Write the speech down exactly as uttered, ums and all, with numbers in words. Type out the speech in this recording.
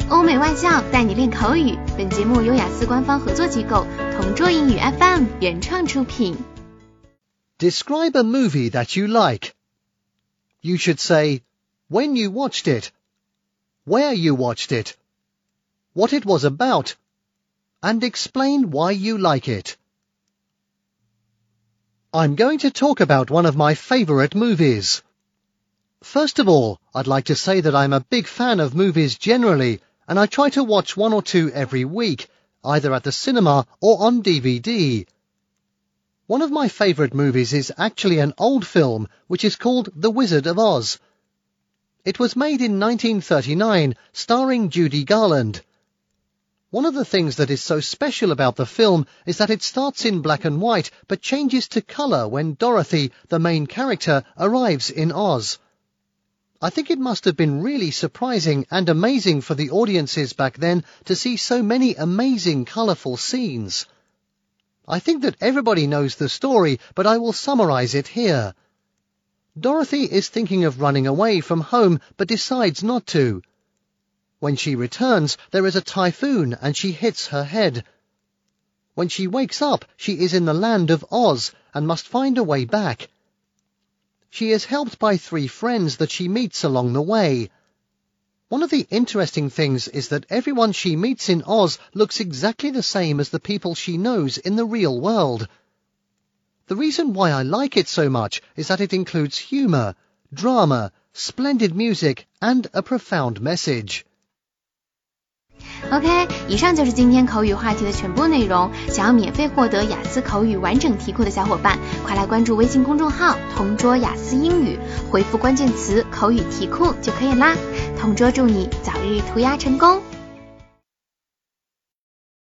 欧美外教带你练口语。本节目由雅思官方合作机构同桌英语 F M 原创出品。 Describe a movie that you like. You should say when you watched it, where you watched it, what it was about, and explain why you like it. I'm going to talk about one of my favourite movies. First of all, I'd like to say that I'm a big fan of movies generally, and I try to watch one or two every week, either at the cinema or on D V D. One of my favourite movies is actually an old film which is called The Wizard of Oz. It was made in nineteen thirty-nine, starring Judy Garland. One of the things that is so special about the film is that it starts in black and white but changes to colour when Dorothy, the main character, arrives in Oz. I think it must have been really surprising and amazing for the audiences back then to see so many amazing colourful scenes. I think that everybody knows the story, but I will summarise it here. Dorothy is thinking of running away from home but decides not to. When she returns, there is a typhoon and she hits her head. When she wakes up, she is in the land of Oz and must find a way back. She is helped by three friends that she meets along the way. One of the interesting things is that everyone she meets in Oz looks exactly the same as the people she knows in the real world. The reason why I like it so much is that it includes humour, drama, splendid music, and a profound message. OK， 以上就是今天口语话题的全部内容。想要免费获得雅思口语完整题库的小伙伴，快来关注微信公众号同桌雅思英语，回复关键词口语题库就可以啦。同桌祝你早日涂鸦成功。